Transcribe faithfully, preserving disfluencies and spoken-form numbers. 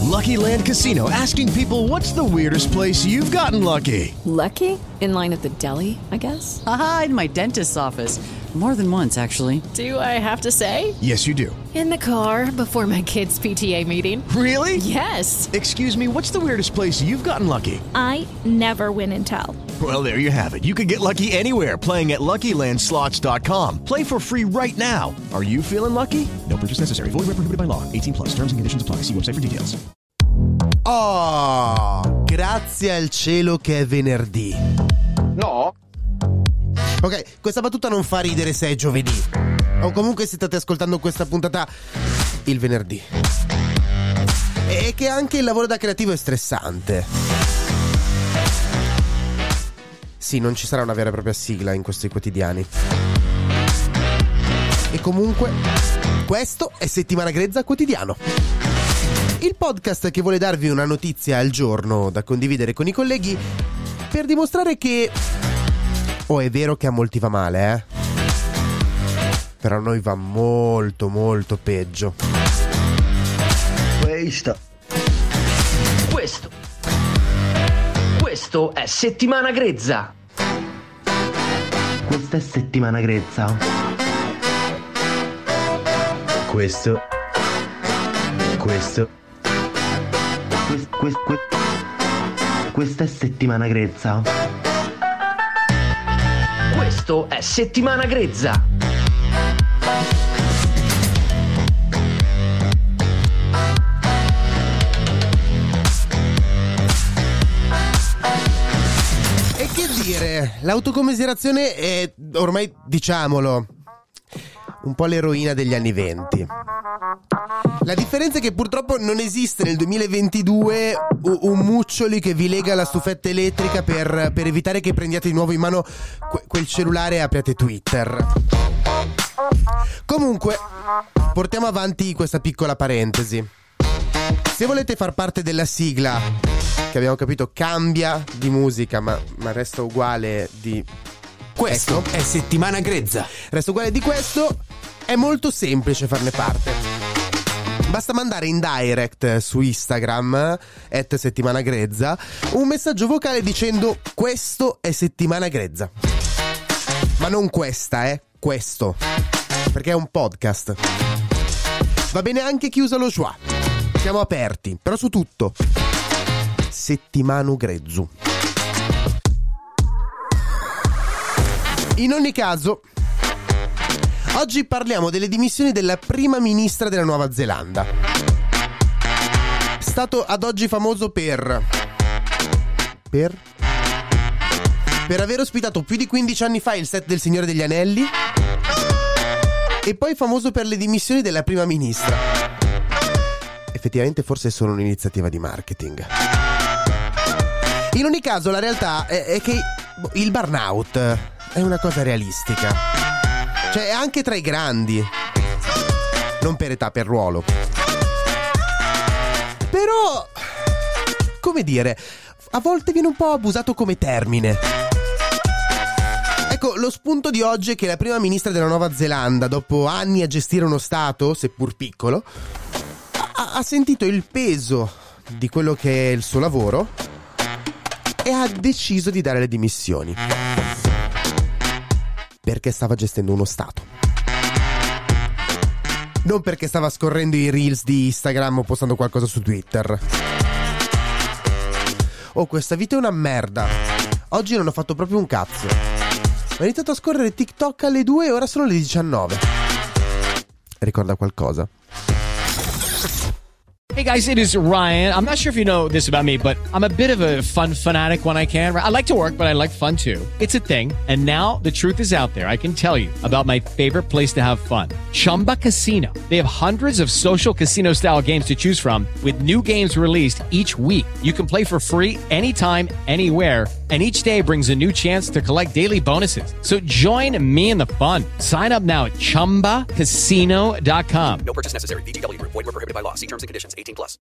Lucky Land Casino, asking people, what's the weirdest place you've gotten lucky? Lucky? In line at the deli, I guess? Aha, in my dentist's office. More than once, actually. Do I have to say? Yes, you do. In the car before my kids' P T A meeting. Really? Yes. Excuse me, what's the weirdest place you've gotten lucky? I never win and tell. Well, there you have it. You can get lucky anywhere, playing at Lucky Land Slots dot com. Play for free right now. Are you feeling lucky? No purchase necessary. Void where prohibited by law. eighteen plus. Terms and conditions apply. See website for details. Oh, grazie al cielo che è venerdì. No? Ok, questa battuta non fa ridere se è giovedì. O comunque se state ascoltando questa puntata il venerdì. E che anche il lavoro da creativo è stressante. Sì, non ci sarà una vera e propria sigla in questi quotidiani. E comunque, questo è Settimana Grezza Quotidiano. Il podcast che vuole darvi una notizia al giorno da condividere con i colleghi per dimostrare che... Oh, è vero che a molti va male, eh? Però a noi va molto, molto peggio. Questo. Questo. Questo è Settimana Grezza. Questa è Settimana Grezza. Questo. Questo. Quest, quest, quest, questa è Settimana Grezza. Questo è Settimana Grezza. E che dire, l'autocommiserazione è, ormai diciamolo, un po' l'eroina degli anni venti. La differenza è che purtroppo non esiste nel duemilaventidue un muccioli che vi lega alla stufetta elettrica per, per evitare che prendiate di nuovo in mano que- quel cellulare e apriate Twitter. Comunque, portiamo avanti questa piccola parentesi. Se volete far parte della sigla, che abbiamo capito cambia di musica ma, ma resta uguale di... Questo ecco, è Settimana Grezza. Resta uguale di questo, è molto semplice farne parte. Basta mandare in direct su Instagram at Settimana Grezza un messaggio vocale dicendo questo è Settimana Grezza. Ma non questa, eh, questo, perché è un podcast. Va bene anche chi usa lo schwa. Siamo aperti, però su tutto. Settimanu Grezzu. In ogni caso, oggi parliamo delle dimissioni della prima ministra della Nuova Zelanda. Stato ad oggi famoso per... Per? Per aver ospitato più di quindici anni fa il set del Signore degli Anelli. E poi famoso per le dimissioni della prima ministra. Effettivamente forse è solo un'iniziativa di marketing. In ogni caso la realtà è, è che il burnout è una cosa realistica. Cioè è anche tra i grandi. Non per età, per ruolo. Però, come dire, a volte viene un po' abusato come termine. Ecco, lo spunto di oggi è che la prima ministra della Nuova Zelanda, dopo anni a gestire uno stato, seppur piccolo, ha, ha sentito il peso di quello che è il suo lavoro e ha deciso di dare le dimissioni. Perché stava gestendo uno stato. Non perché stava scorrendo i reels di Instagram o postando qualcosa su Twitter. Oh, questa vita è una merda. Oggi non ho fatto proprio un cazzo. Ho iniziato a scorrere TikTok alle due e ora sono le diciannove. Ricorda qualcosa? Hey guys, it is Ryan. I'm not sure if you know this about me, but I'm a bit of a fun fanatic when I can. I like to work, but I like fun too. It's a thing. And now the truth is out there. I can tell you about my favorite place to have fun. Chumba Casino. They have hundreds of social casino style games to choose from with new games released each week. You can play for free anytime, anywhere. And each day brings a new chance to collect daily bonuses. So join me in the fun. Sign up now at chumba casino dot com. No purchase necessary. V G W Group. Void where prohibited by law. See terms and conditions. eighteen plus.